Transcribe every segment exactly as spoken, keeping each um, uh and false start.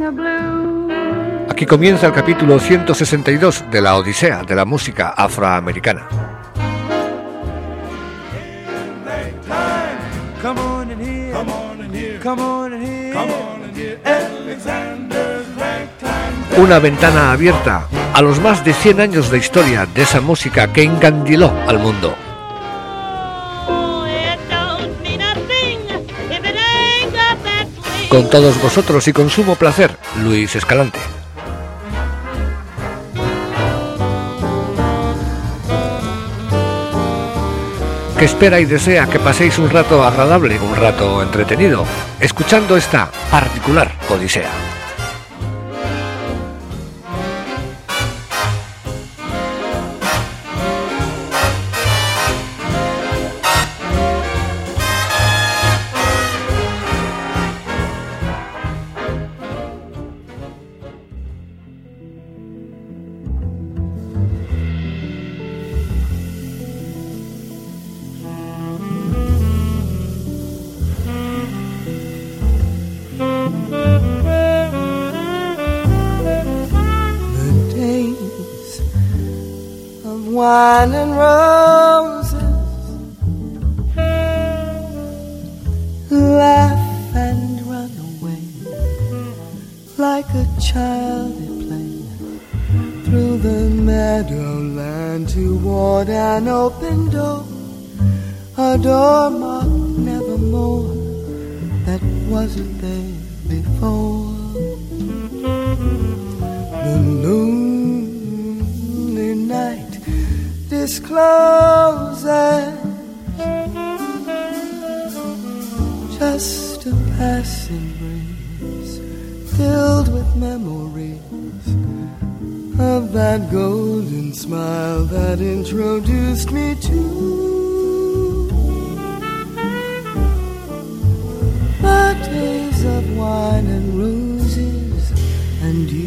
Aquí comienza el capítulo ciento sesenta y dos de la Odisea de la música afroamericana. Una ventana abierta a los más de cien años de historia de esa música que encandiló al mundo. Con todos vosotros y con sumo placer, Luis Escalante. Que espera y desea que paséis un rato agradable, un rato entretenido, escuchando esta particular Odisea. Wine and roses, laugh and run away like a child at play through the meadowland toward an open door, a door marked nevermore that wasn't there before. The lonely night discloses just a passing breeze filled with memories of that golden smile that introduced me to the days of wine and roses and you.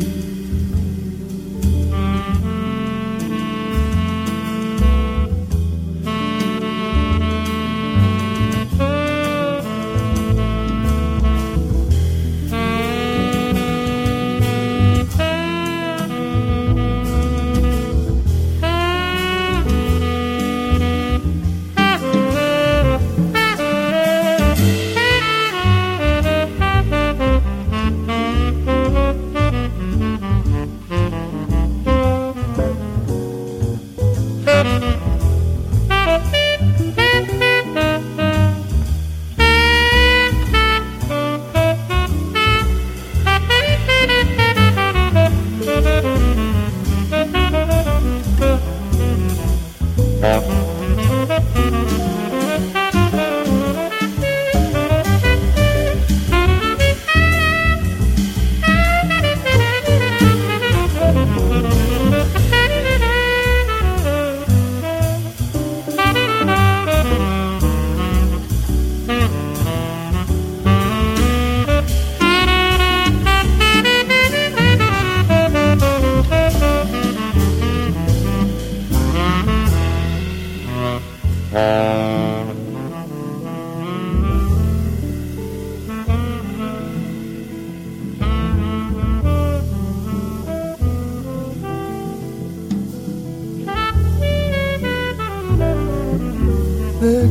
The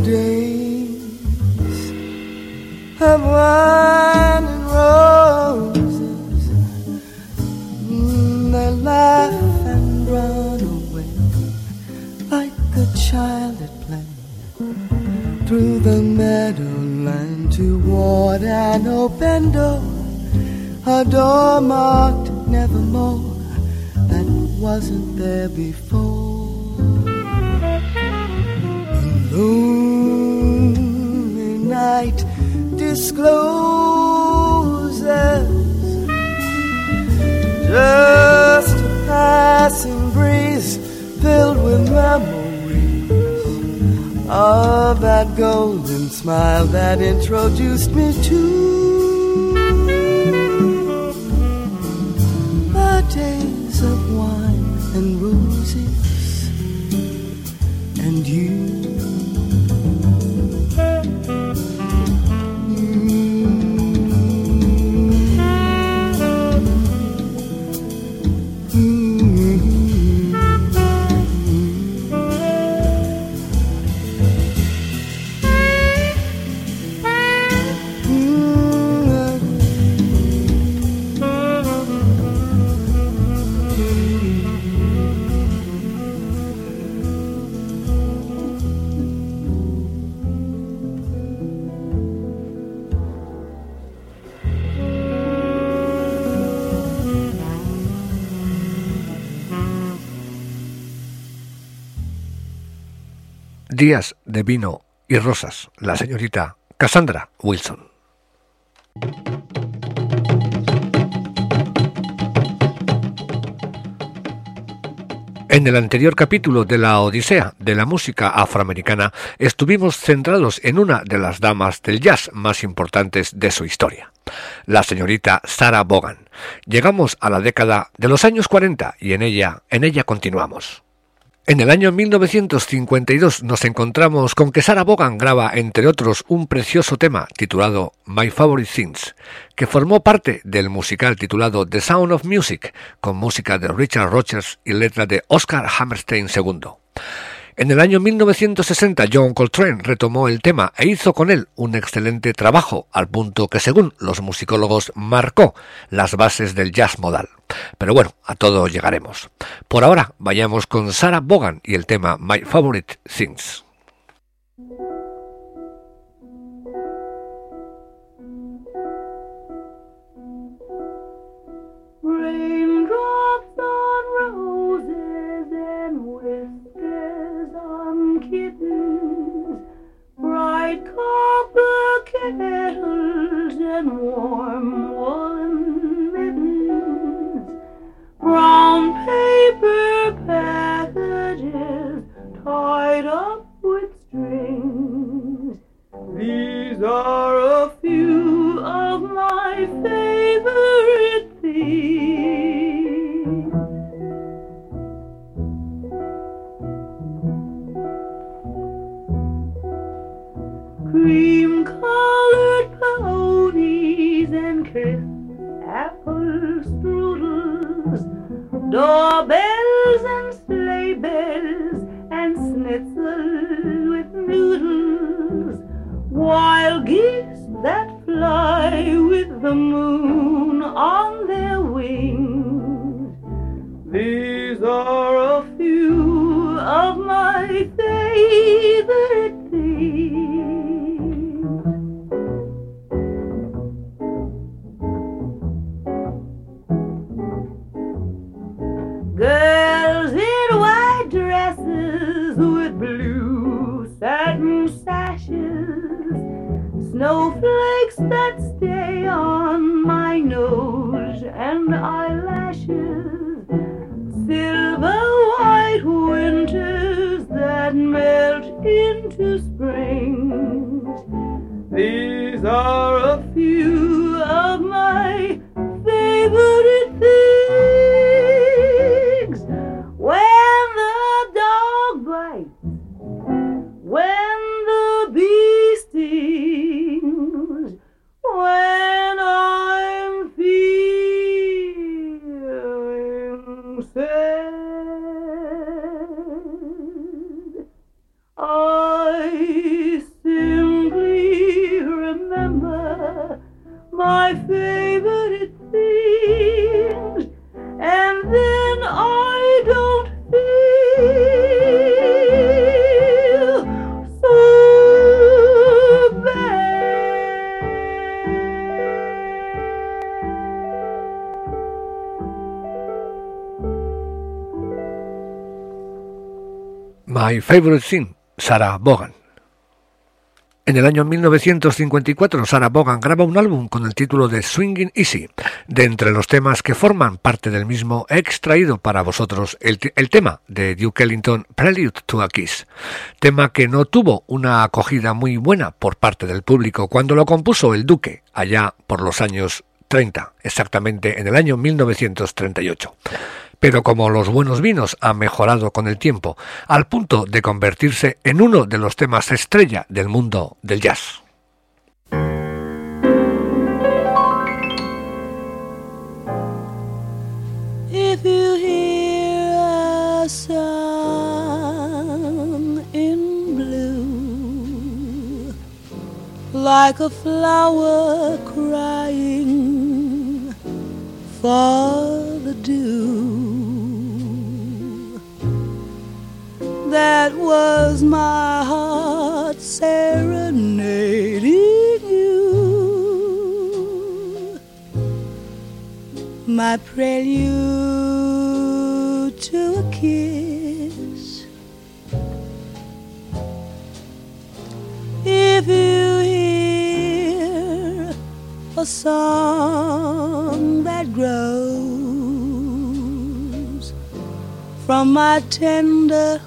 days of wine and roses, mm, they laugh and run away like a child at play through the meadowland toward an open door, a door marked nevermore that wasn't there before. Lonely night discloses just a passing breeze filled with memories of that golden smile that introduced me to the days of wine and roses and you. Días de vino y rosas, la señorita Cassandra Wilson. En el anterior capítulo de la Odisea de la música afroamericana estuvimos centrados en una de las damas del jazz más importantes de su historia, la señorita Sarah Vaughan. Llegamos a la década de los años cuarenta y en ella, en ella continuamos. En el año mil novecientos cincuenta y dos nos encontramos con que Sarah Vaughan graba, entre otros, un precioso tema titulado My Favorite Things, que formó parte del musical titulado The Sound of Music, con música de Richard Rodgers y letra de Oscar Hammerstein segundo. En el año mil novecientos sesenta, John Coltrane retomó el tema e hizo con él un excelente trabajo, al punto que, según los musicólogos, marcó las bases del jazz modal. Pero bueno, a todo llegaremos. Por ahora, vayamos con Sarah Vaughan y el tema My Favorite Things. Raindrops on roses and whiskers on kittens, bright copper kettles and warm woolen mittens, brown paper packages tied up with strings. These are a few of my favorite things. Cream-colored ponies and crisp apple strudels, doorbells and sleigh bells and schnitzel with noodles, wild geese that fly with the moon on their wings. These are a few of my favorite things. Girls in white dresses with blue satin sashes, snowflakes that stay on my nose and eyelashes, silver white winters that melt into springs. These are a few of my favorite things. When the dog bites, when the bee stings, when I'm feeling sad, I simply remember my favorite things, and then I don't feel so bad. My Favorite Thing, Sarah Vaughan. En el año mil novecientos cincuenta y cuatro, Sarah Vaughan graba un álbum con el título de Swingin' Easy. De entre los temas que forman parte del mismo, he extraído para vosotros el, el tema de Duke Ellington, Prelude to a Kiss, tema que no tuvo una acogida muy buena por parte del público cuando lo compuso el Duque, allá por los años treinta, exactamente en el año mil novecientos treinta y ocho. Pero como los buenos vinos han mejorado con el tiempo, al punto de convertirse en uno de los temas estrella del mundo del jazz. If you hear a song in blue, like a flower crying for the dew, that was my heart serenading you, my prelude to a kiss. song that grows from my tender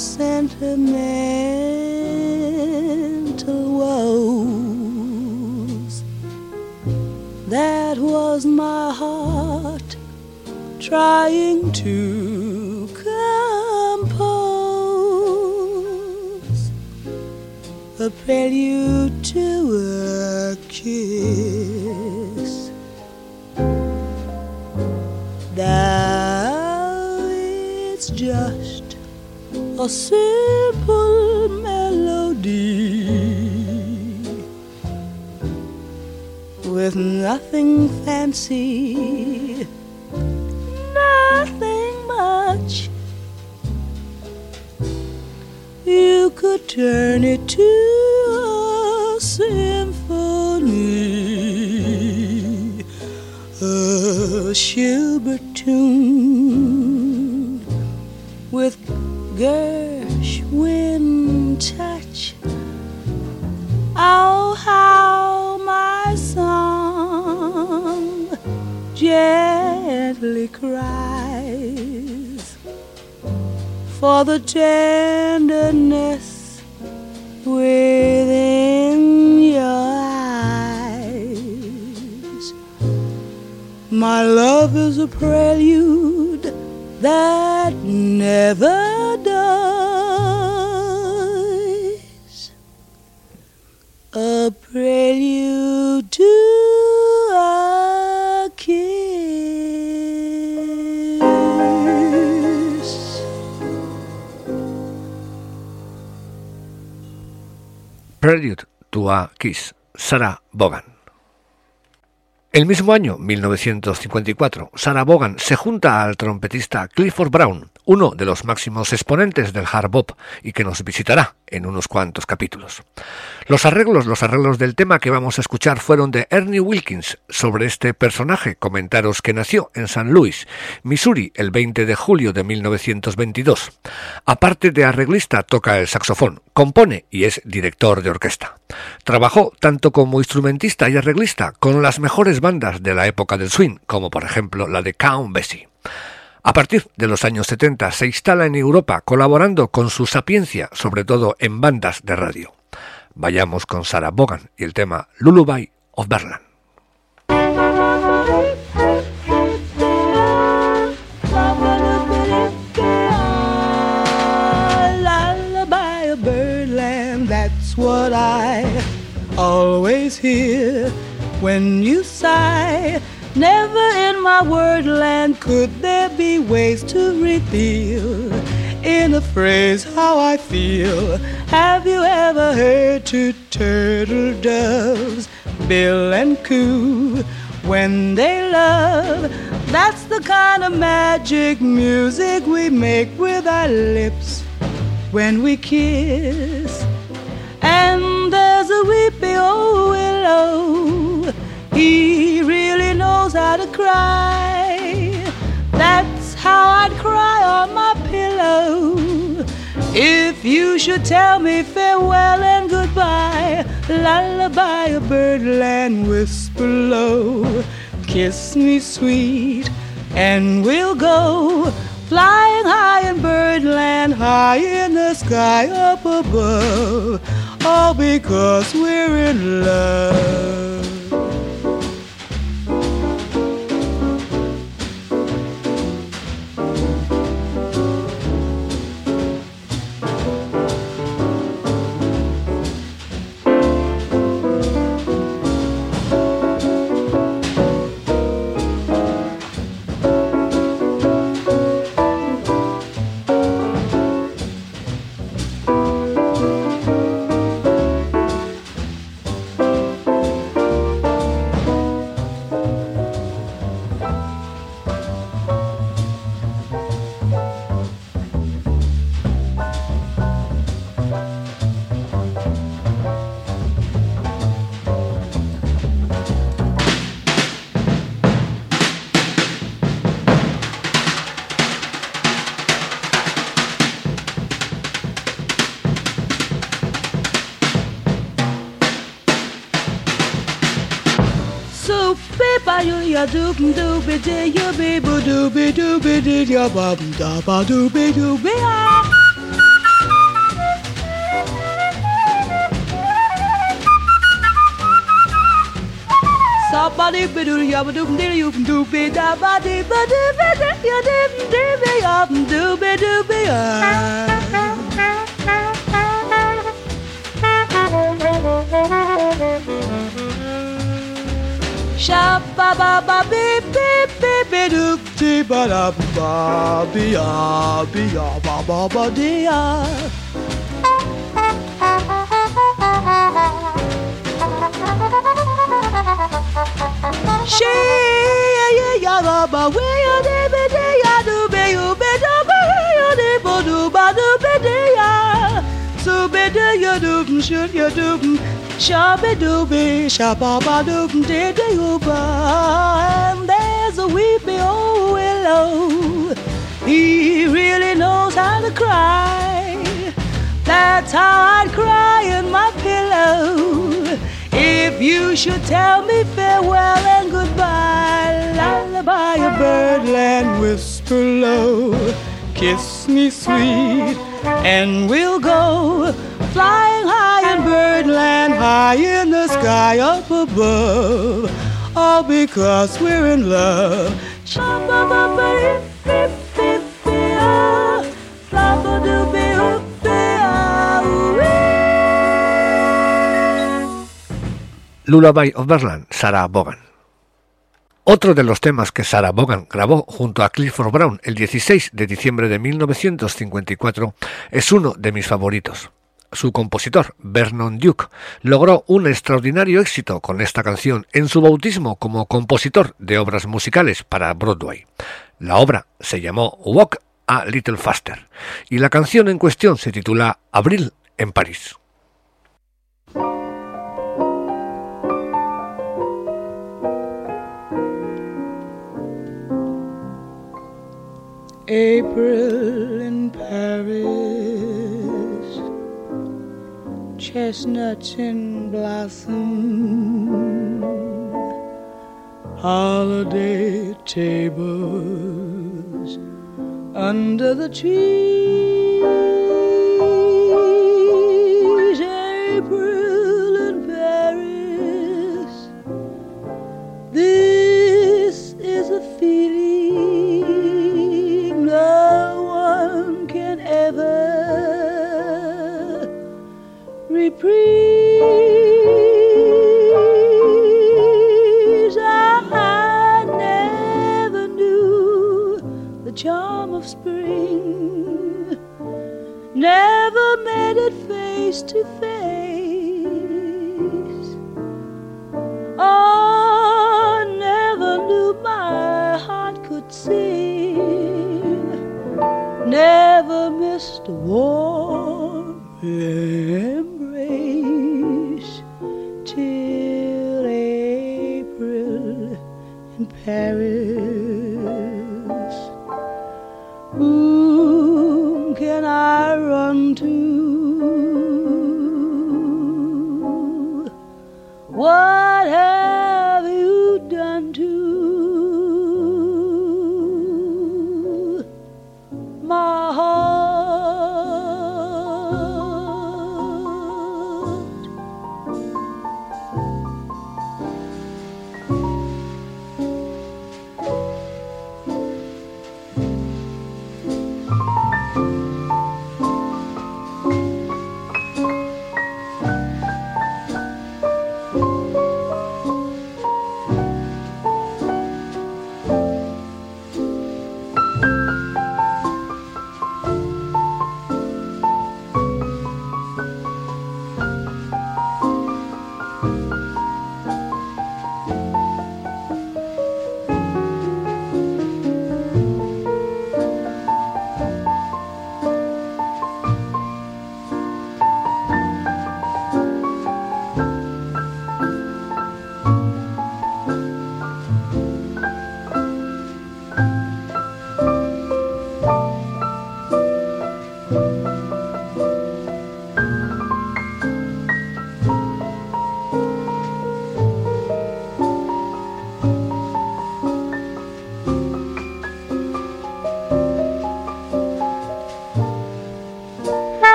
sentimental woes. That was my heart trying to compose a prelude to a kiss. Now it's just a simple melody with nothing fancy, nothing much. You could turn it to a symphony, a Schubert tune with Gershwin touch. Oh, how my song gently cries for the tenderness within your eyes. My love is a prelude that never dies, a prelude to a kiss. Prelude to a Kiss, Sarah Vaughan. El mismo año, mil novecientos cincuenta y cuatro, Sarah Vaughan se junta al trompetista Clifford Brown, uno de los máximos exponentes del hard bop y que nos visitará en unos cuantos capítulos. Los arreglos, los arreglos del tema que vamos a escuchar fueron de Ernie Wilkins. Sobre este personaje, comentaros que nació en Saint Louis, Missouri, el veinte de julio de mil novecientos veintidós. Aparte de arreglista, toca el saxofón, compone y es director de orquesta. Trabajó tanto como instrumentista y arreglista con las mejores bandas de la época del swing, como por ejemplo la de Count Basie. A partir de los años setenta se instala en Europa colaborando con su sapiencia, sobre todo en bandas de radio. Vayamos con Sarah Vaughan y el tema Lullaby of Berlin. Lullaby of Birdland, that's what I always hear when you sigh. Never in my wordland could there be ways to reveal in a phrase how I feel. Have you ever heard two turtle doves bill and coo when they love? That's the kind of magic music we make with our lips when we kiss. And there's a weepy old willow, he really knows how to cry. That's how I'd cry on my pillow if you should tell me farewell and goodbye. Lullaby of birdland, whisper low, kiss me sweet, and we'll go flying high in birdland, high in the sky up above, all because we're in love. ya doop doopy dee ya baby doopy doopy dee ya bum da ba doopy doopy ah. Ba dee ba doo ya ba doop dee you doop be da ba dee ba dee ba dee ya dee dee be ya doop be doop be ya. Sha ba ba ba beep beep beep beep doop dee ba da ba be ya be ya ba ba ba dee ya. She ya ya ya ba ba we ya de be de ya do be you be do be ya de bo do ba do be de ya so be de ya do shoot ya do sha be do be sha ba ba do de de you ba and there's a weepy old willow he really knows how to cry that's how I'd cry in my pillow. If you should tell me farewell and goodbye, lullaby a birdland, whisper low, kiss me sweet, and we'll go flying high in birdland, high in the sky up above, all because we're in love. Lullaby of Birdland, Sarah Vaughan. Otro de los temas que Sarah Vaughan grabó junto a Clifford Brown el dieciséis de diciembre de mil novecientos cincuenta y cuatro es uno de mis favoritos. Su compositor, Vernon Duke, logró un extraordinario éxito con esta canción en su bautismo como compositor de obras musicales para Broadway. La obra se llamó Walk a Little Faster y la canción en cuestión se titula Abril en París. April in Paris, chestnuts in blossom, holiday tables under the trees. April in Paris, this is a feeling no one can ever reprise. I never knew the charm of spring, never met it face to face. Oh, never knew my heart could sing, never missed a warm embrace till April in Paris. Whom can I run to? What have you done to my heart?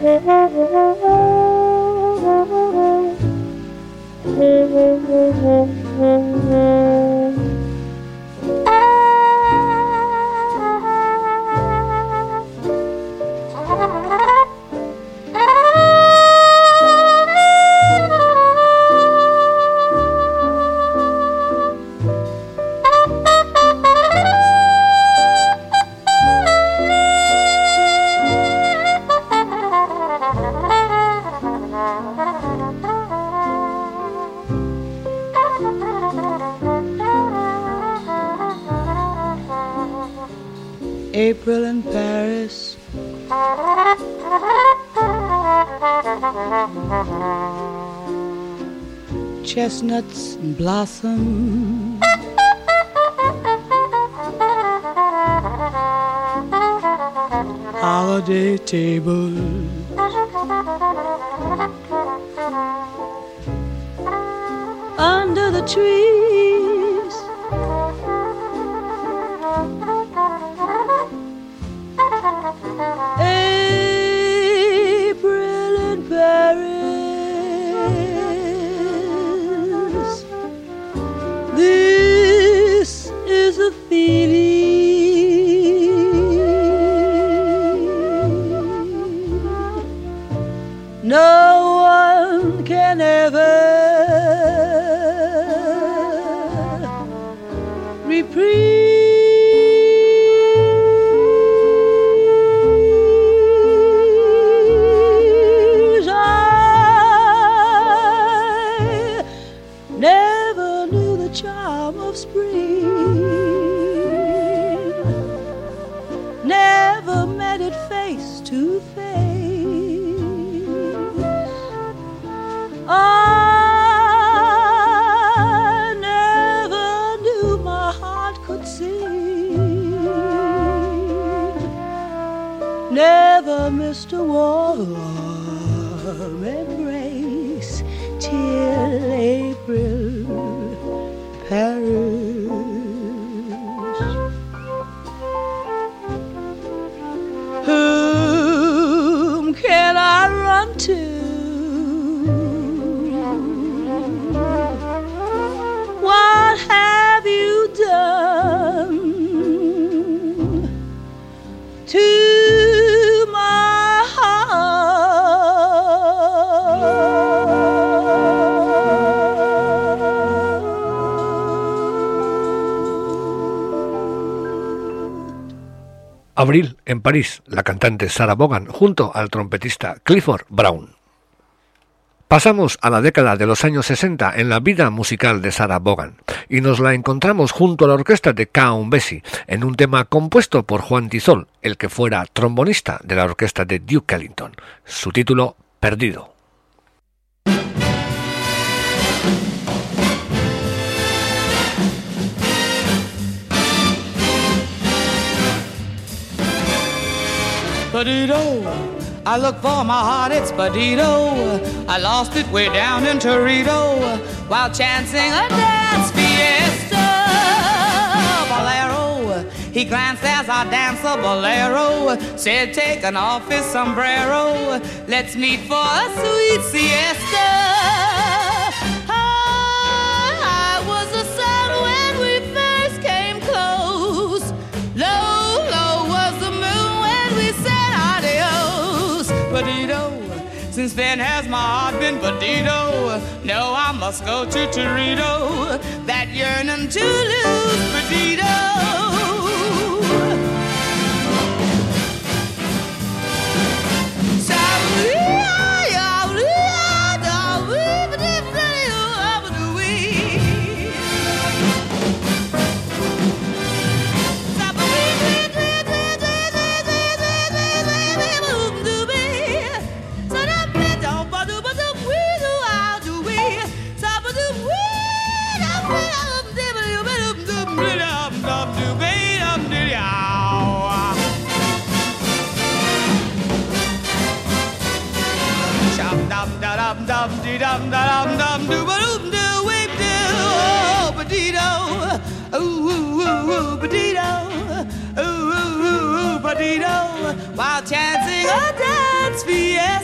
April in Paris, chestnuts in blossom, holiday tables, under the trees, April in Paris. This is a feeling no one can ever reprieve. Charm of spring, never met it face to face. I never knew my heart could sing, never missed a warm embrace till April Paris. Whom can I run to? What have you done to my heart? Abril en París, la cantante Sarah Vaughan junto al trompetista Clifford Brown. Pasamos a la década de los años sesenta en la vida musical de Sarah Vaughan y nos la encontramos junto a la orquesta de Count Basie en un tema compuesto por Juan Tizol, el que fuera trombonista de la orquesta de Duke Ellington. Su título, Perdido. Perdido, I look for my heart, it's Perdido. I lost it way down in Torito while chancing a dance fiesta. Bolero, he glanced as I danced a bolero, said taking off his sombrero, let's meet for a sweet siesta. I was the sun when we first came close. Low, low was the moon when we said adios. Perdido, since then has my heart been perdido. No, I must go to Torito, that yearning to lose Perdido. Dum dee dum da dum dum do ba doom do weep do oh Perdido ooh ooh ooh ooh Perdido ooh ooh ooh ooh Perdido while chancing a dance fiesta.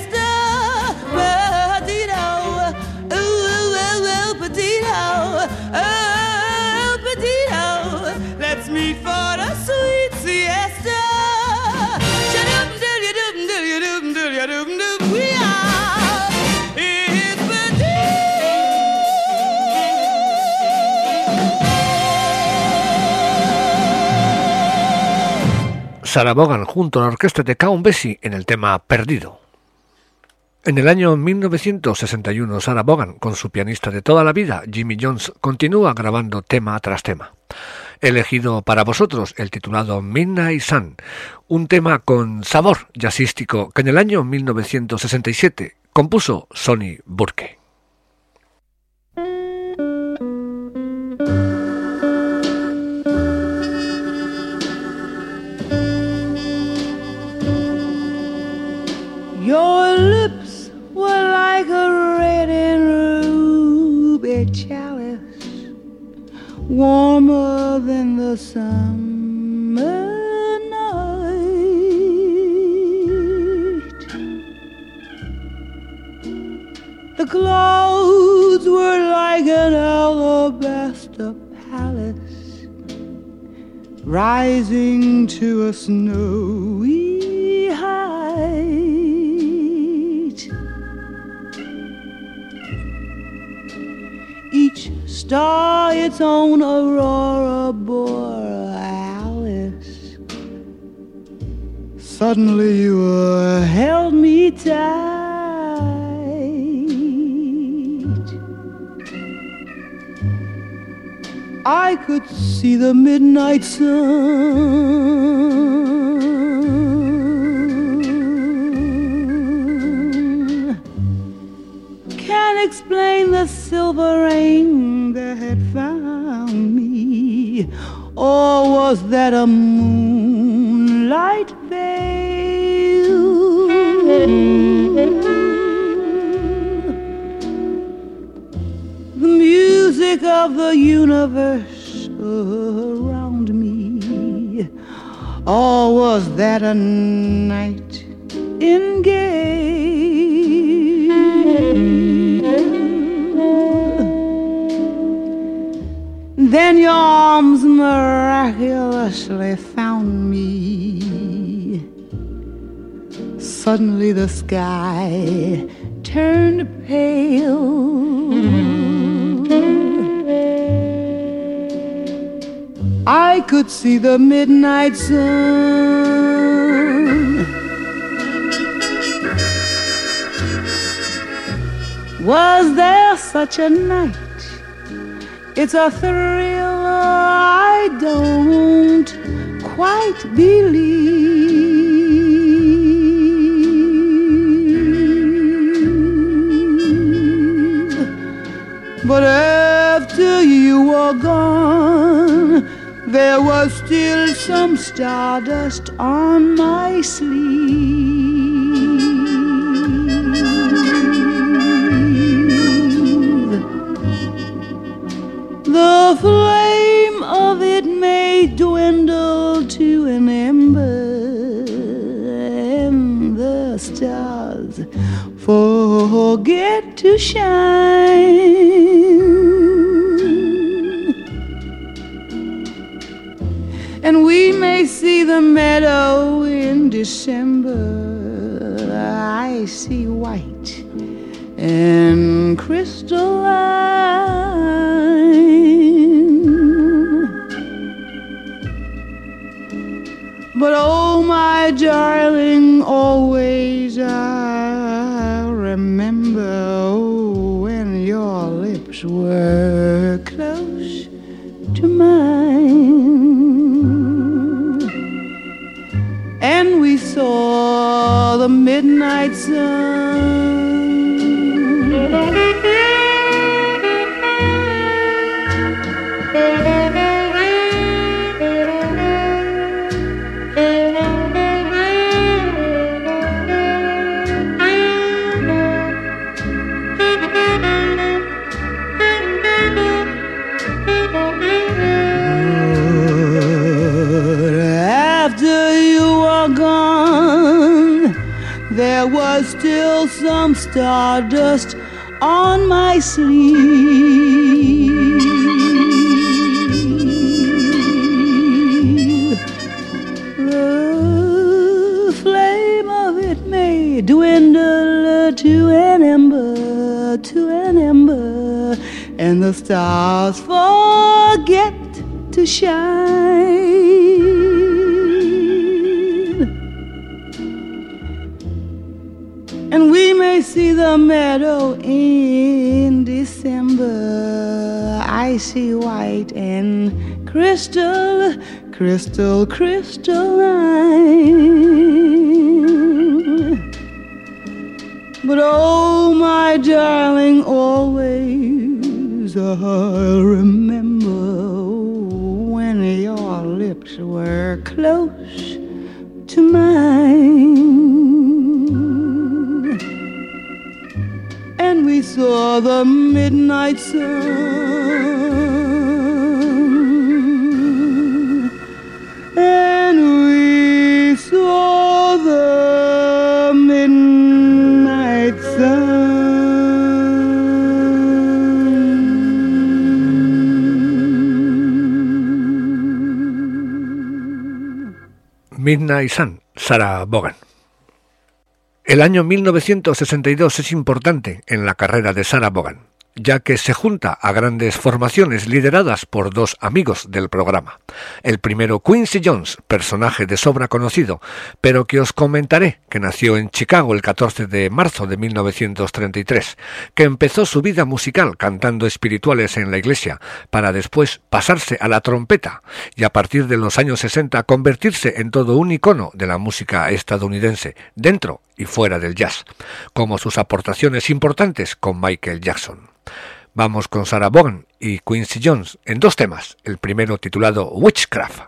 Sarah Vaughan junto a la orquesta de Count Basie en el tema Perdido. En el año mil novecientos sesenta y uno, Sarah Vaughan, con su pianista de toda la vida, Jimmy Jones, continúa grabando tema tras tema. He elegido para vosotros el titulado Midnight Sun, un tema con sabor jazzístico que en el año mil novecientos sesenta y siete compuso Sonny Burke. Your lips were like a red and ruby chalice, warmer than the summer night. The clouds were like an alabaster palace, rising to a snowy height. Each star its own aurora borealis. Suddenly you uh, held me tight. I could see the midnight sun. Can't explain the silver rain that had found me, or was that a moonlight veil? The music of the universe around me, or was that a nightingale? Then your arms miraculously found me. Suddenly the sky turned pale. I could see the midnight sun. Was there such a night? It's a thrill I don't quite believe. But after you were gone, there was still some stardust on my sleeve. The flame of it may dwindle to an ember, and the stars forget to shine. And we may see the meadow in December. I see white and crystalline. But oh, my darling, always I remember oh, when your lips were close to mine, and we saw the midnight sun. There was still some stardust on my sleeve. The flame of it may dwindle to an ember, to an ember, and the stars forget to shine. and we may see the meadow in December, icy white and crystal, crystal, crystalline. But oh, my darling, always I'll remember when your lips were close to mine, and we saw the midnight sun, and we saw the midnight sun. Midnight Sun, Sarah Vaughan. El año mil novecientos sesenta y dos es importante en la carrera de Sarah Vaughan, ya que se junta a grandes formaciones lideradas por dos amigos del programa. El primero, Quincy Jones, personaje de sobra conocido, pero que os comentaré que nació en Chicago el catorce de marzo de mil novecientos treinta y tres, que empezó su vida musical cantando espirituales en la iglesia, para después pasarse a la trompeta y a partir de los años sesenta convertirse en todo un icono de la música estadounidense, dentro y fuera del jazz, como sus aportaciones importantes con Michael Jackson. Vamos con Sarah Vaughan y Quincy Jones en dos temas, el primero titulado Witchcraft.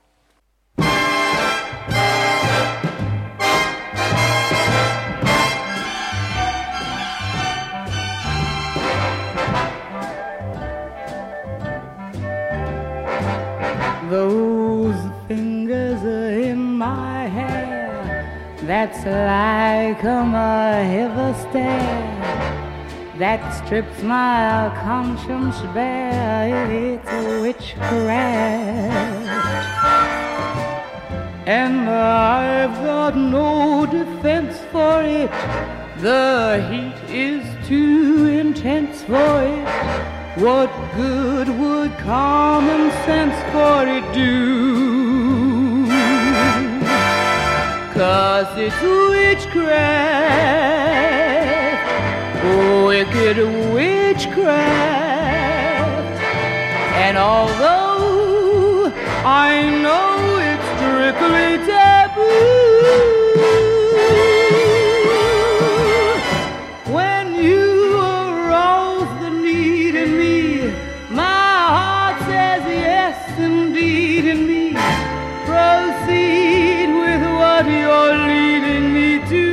Those fingers are in my hair, that's like a heavy stare that strips my conscience bare. It's a witchcraft, and I've got no defense for it. The heat is too intense for it. What good would common sense for it do? 'Cause it's witchcraft, wicked witchcraft. And although I know it's strictly taboo, when you arouse the need in me, my heart says yes indeed in me. Proceed with what you're leading me to.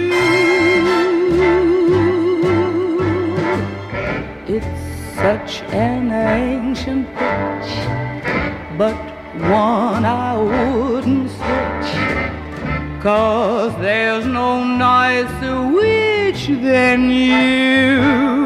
It's such an ancient pitch, but one I wouldn't switch, 'cause there's no nicer witch than you.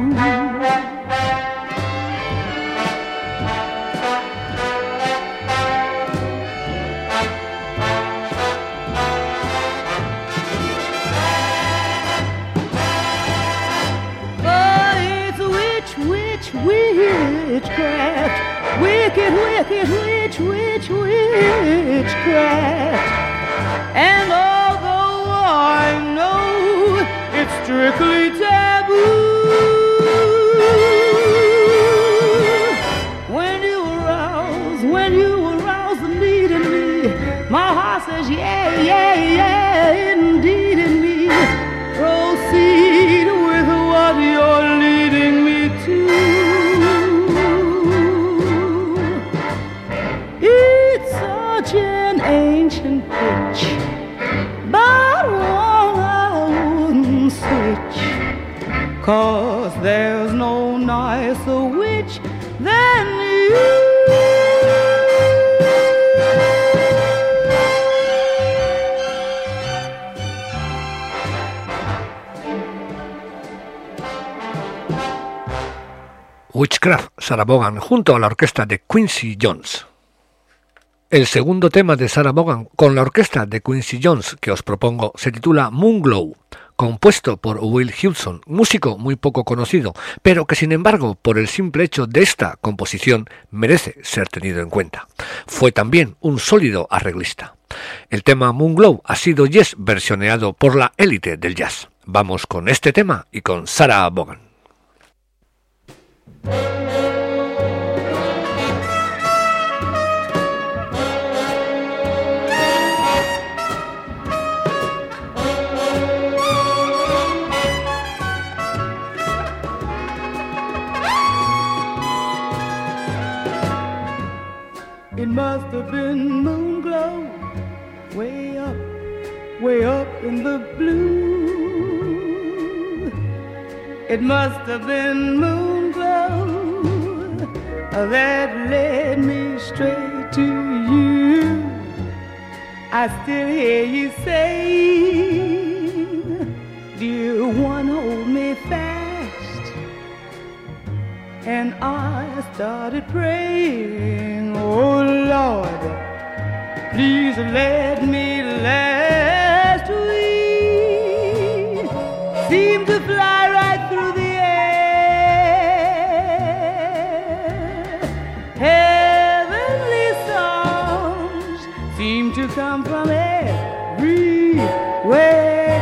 Witchcraft, wicked, wicked, witch, witch, witchcraft. And although I know it's strictly taboo, when you arouse, when you arouse the need in me, my heart says yeah, yeah, yeah, indeed in me. Proceed with what you're leading me to. An ancient pitch, but one I wouldn't switch, 'cause there's no nicer witch than you. Witchcraft, Sarah Vaughan junto a la orquesta de Quincy Jones. El segundo tema de Sarah Vaughan con la orquesta de Quincy Jones que os propongo se titula Moonglow, compuesto por Will Hewson, músico muy poco conocido, pero que sin embargo por el simple hecho de esta composición merece ser tenido en cuenta. Fue también un sólido arreglista. El tema Moonglow ha sido yes versioneado por la élite del jazz. Vamos con este tema y con Sarah Vaughan. It must have been moon glow, way up, way up in the blue. It must have been moon glow that led me straight to you. I still hear you say, dear one, hold me fast. And I started praying, oh Lord, please let me last. We seem to fly right through the air. Heavenly songs seem to come from everywhere.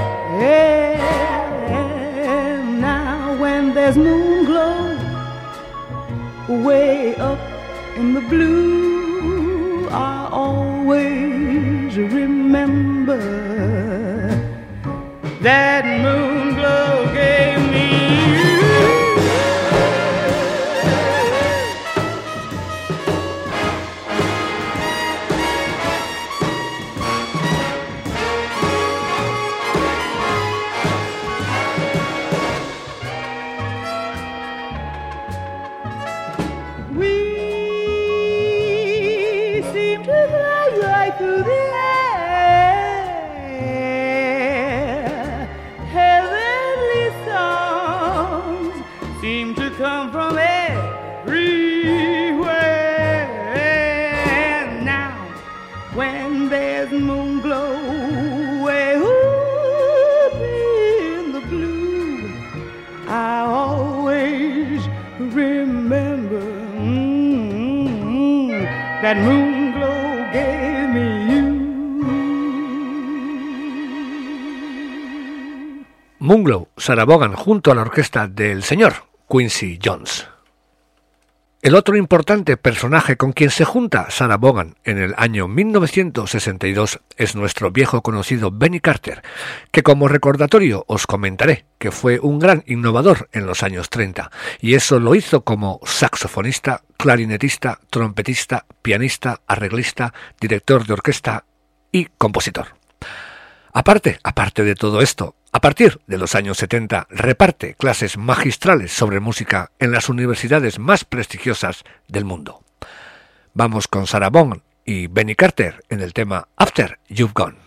Now when there's moon glow way up in the blue, I always remember that moon glow gave me through the air. Heavenly songs seem to come from everywhere. And now, when there's moon glow way up in the blue, I always remember mm, that moon glow gave me you. Moon Glow, Sarah Vaughan junto a la orquesta del señor Quincy Jones. El otro importante personaje con quien se junta Sarah Vaughan en el año mil novecientos sesenta y dos es nuestro viejo conocido Benny Carter, que como recordatorio os comentaré que fue un gran innovador en los años treinta, y eso lo hizo como saxofonista, clarinetista, trompetista, pianista, arreglista, director de orquesta y compositor. Aparte, aparte de todo esto, a partir de los años setenta reparte clases magistrales sobre música en las universidades más prestigiosas del mundo. Vamos con Sarah Vaughan y Benny Carter en el tema After You've Gone.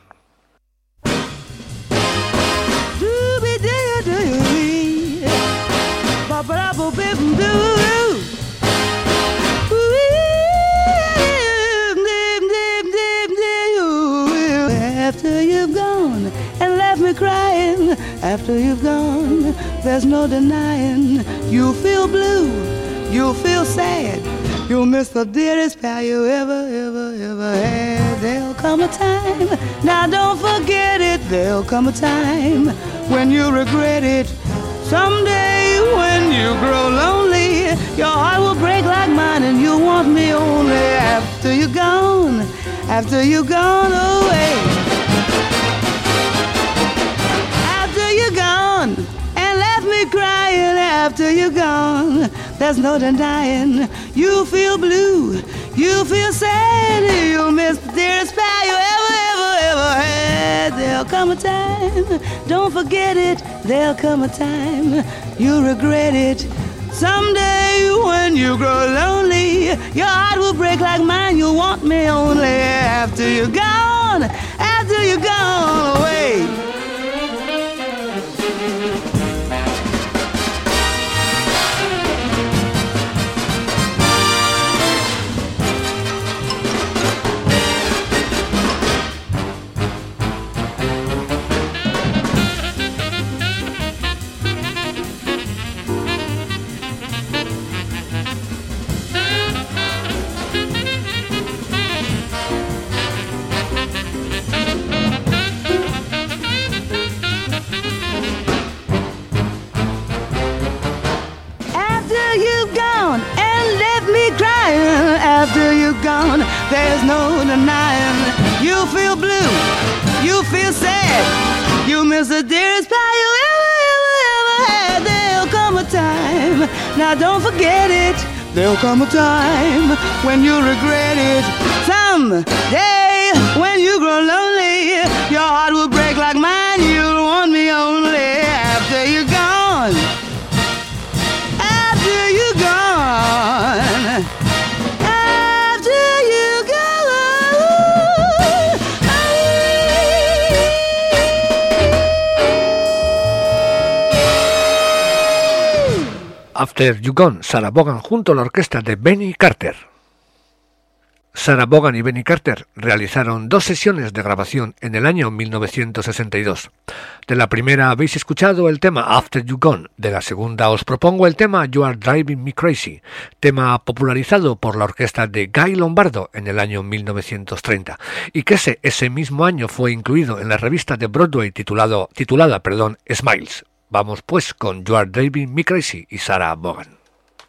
After you've gone and left me crying, after you've gone, there's no denying. You'll feel blue, you'll feel sad, you'll miss the dearest pal you ever, ever, ever had. There'll come a time, now don't forget it, there'll come a time when you regret it. Someday when you grow lonely, your heart will break like mine and you'll want me only after you're gone, after you've gone away. After you're gone and left me crying, after you're gone, there's no denying. You feel blue, you feel sad, you'll miss the dearest pal you ever, ever, ever had. There'll come a time, don't forget it, there'll come a time, you'll regret it. Someday when you grow lonely, your heart will break like mine, you'll want me only after you're gone, after you're gone away. no denying. You feel blue, you feel sad, you miss the dearest pal you ever, ever, ever had. There'll come a time, now don't forget it. There'll come a time when you'll regret it. Someday when you grow lonely, your heart will break like mine. You'll want me only after you're gone. After you're gone. After you're gone. After You Gone, Sarah Vaughan junto a la orquesta de Benny Carter. Sarah Vaughan y Benny Carter realizaron dos sesiones de grabación en el año mil novecientos sesenta y dos. De la primera habéis escuchado el tema After You Gone, de la segunda os propongo el tema You Are Driving Me Crazy, tema popularizado por la orquesta de Guy Lombardo en el año mil novecientos treinta, y que ese, ese mismo año fue incluido en la revista de Broadway titulado, titulada perdón, Smiles. Vamos pues con You Are Driving Me Crazy y Sarah Vaughan.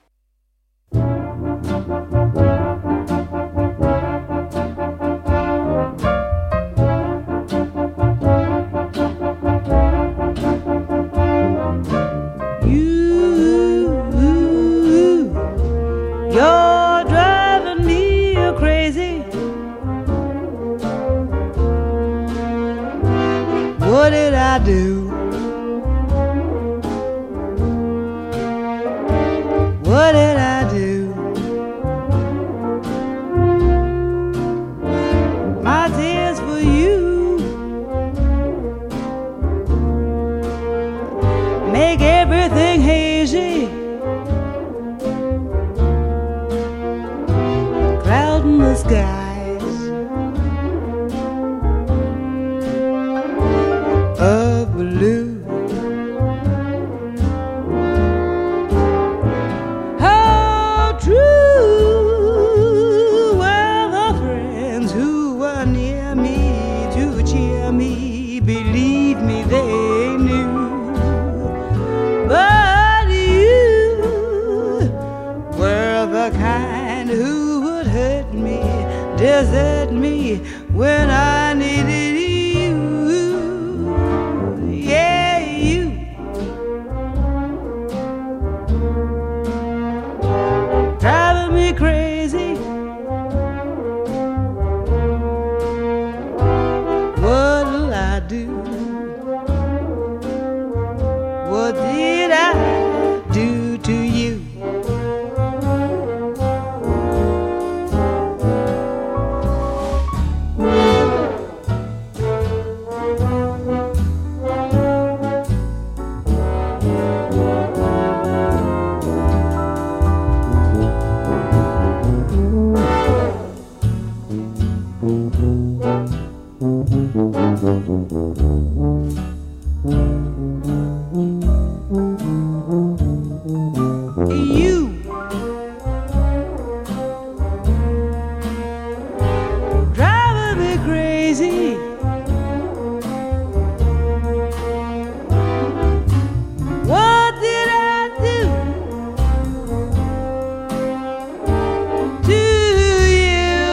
You're driving me crazy. What did I do? What did I do? My tears for you make everything hazy. Cloud in the skies of blue. How true were the friends who were near me to cheer me? Believe me, they knew. But you were the kind who would hurt me, desert me when I needed you. Yeah, you. Driving me crazy. What'll I do? What did I do to you? You driving me crazy. What did I do to you?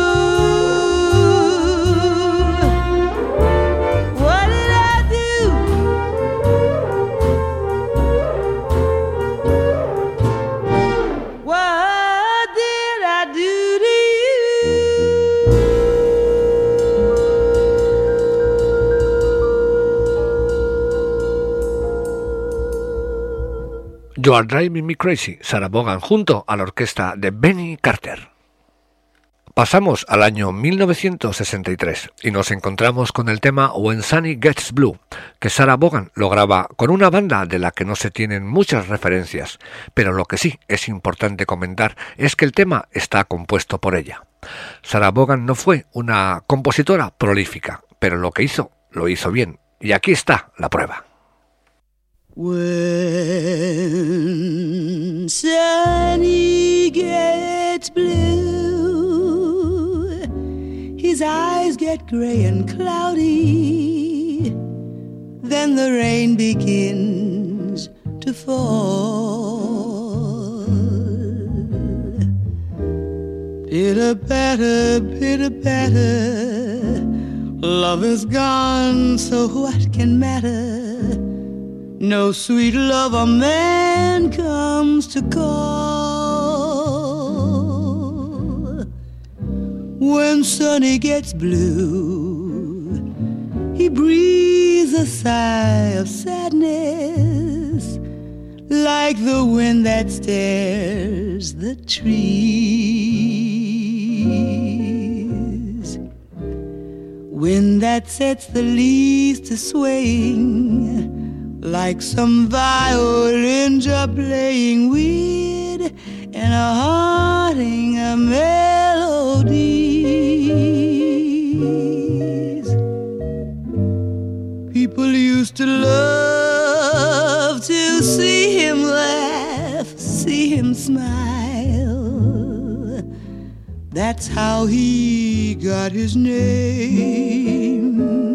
What did I do? What did I do to you? You Are Driving Me Crazy, Sarah Vaughan junto a la orquesta de Benny Carter. Pasamos al año mil novecientos sesenta y tres y nos encontramos con el tema When Sunny Gets Blue, que Sarah Vaughan lo graba con una banda de la que no se tienen muchas referencias, pero lo que sí es importante comentar es que el tema está compuesto por ella. Sarah Vaughan no fue una compositora prolífica, pero lo que hizo, lo hizo bien, y aquí está la prueba. When Sunny gets blue, his eyes get gray and cloudy, then the rain begins to fall. pitter patter, pitter patter. Love is gone, so what can matter? No sweet love a man comes to call. When Sonny gets blue, he breathes a sigh of sadness, like the wind that stirs the trees. Wind that sets the leaves to swaying, like some violins are playing weird and a haunting of melodies. People used to love to see him laugh, see him smile. That's how he got his name.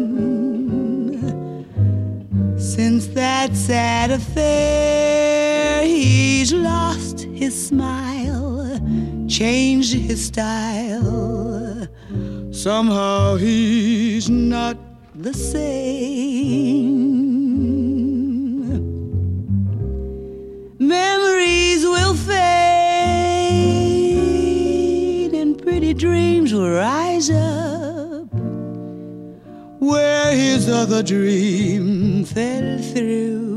Since that sad affair, he's lost his smile, changed his style. Somehow he's not the same. Memories will fade and pretty dreams will rise up where his other dream fell through.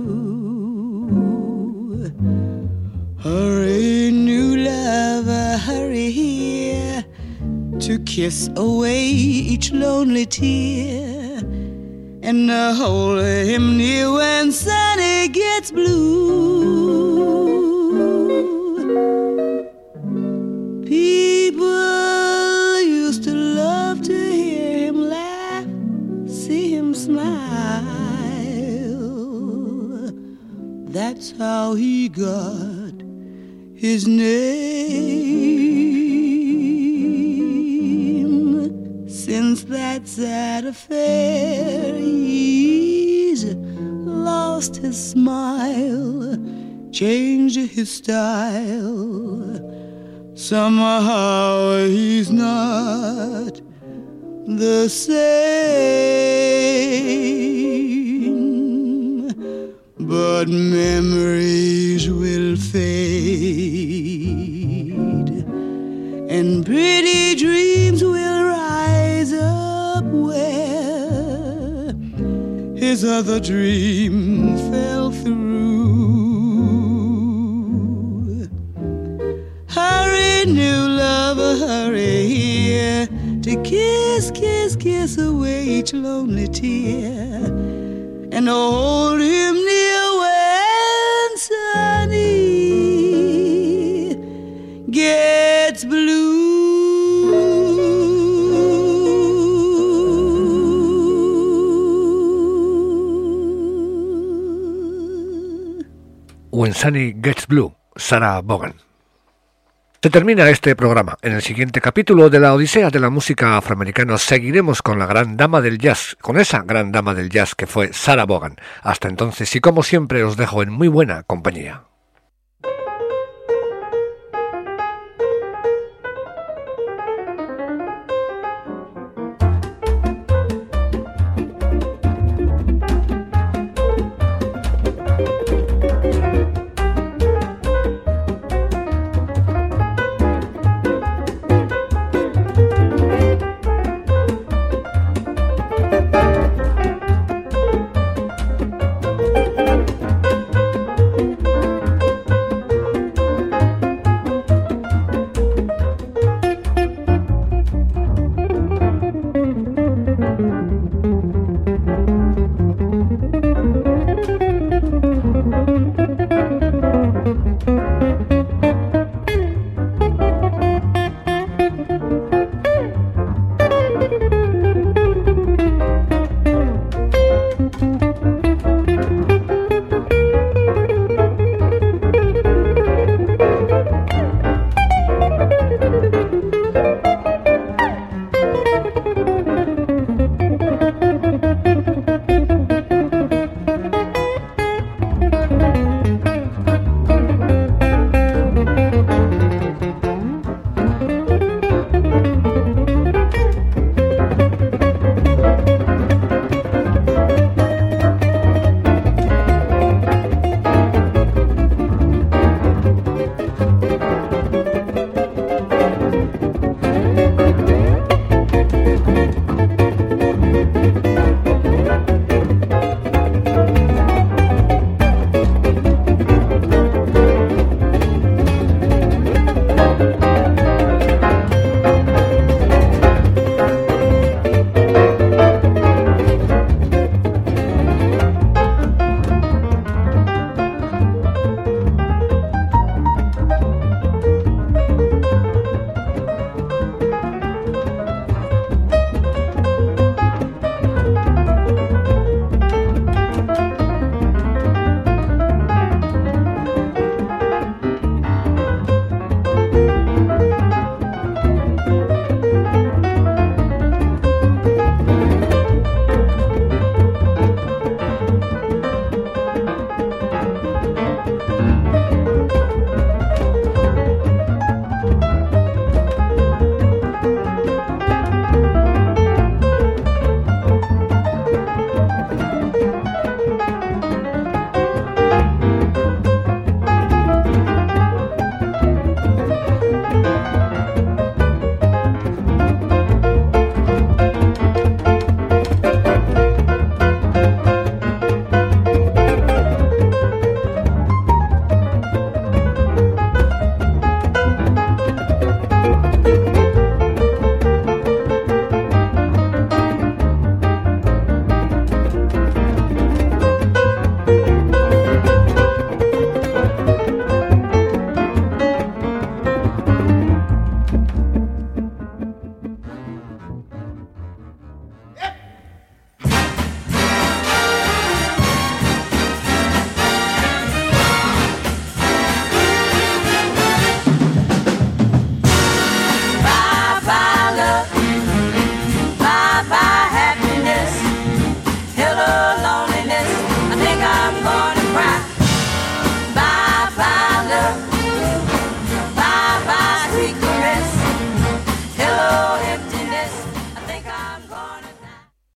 Hurry, new lover, hurry here to kiss away each lonely tear and uh, hold him near when Sonny gets blue. People used to love to hear him laugh, see him smile. That's how he got his name. Since that sad affair, he's lost his smile, changed his style. Somehow he's not the same. But memories will fade and pretty dreams will rise up where his other dream fell through. Hurry, new lover, hurry here to kiss, kiss, kiss away each lonely tear and hold him near when Sonny gets blue. When Sonny Gets Blue, Sarah Vaughan. Se termina este programa. En el siguiente capítulo de la Odisea de la música afroamericana seguiremos con la gran dama del jazz, con esa gran dama del jazz que fue Sarah Vaughan. Hasta entonces y como siempre os dejo en muy buena compañía.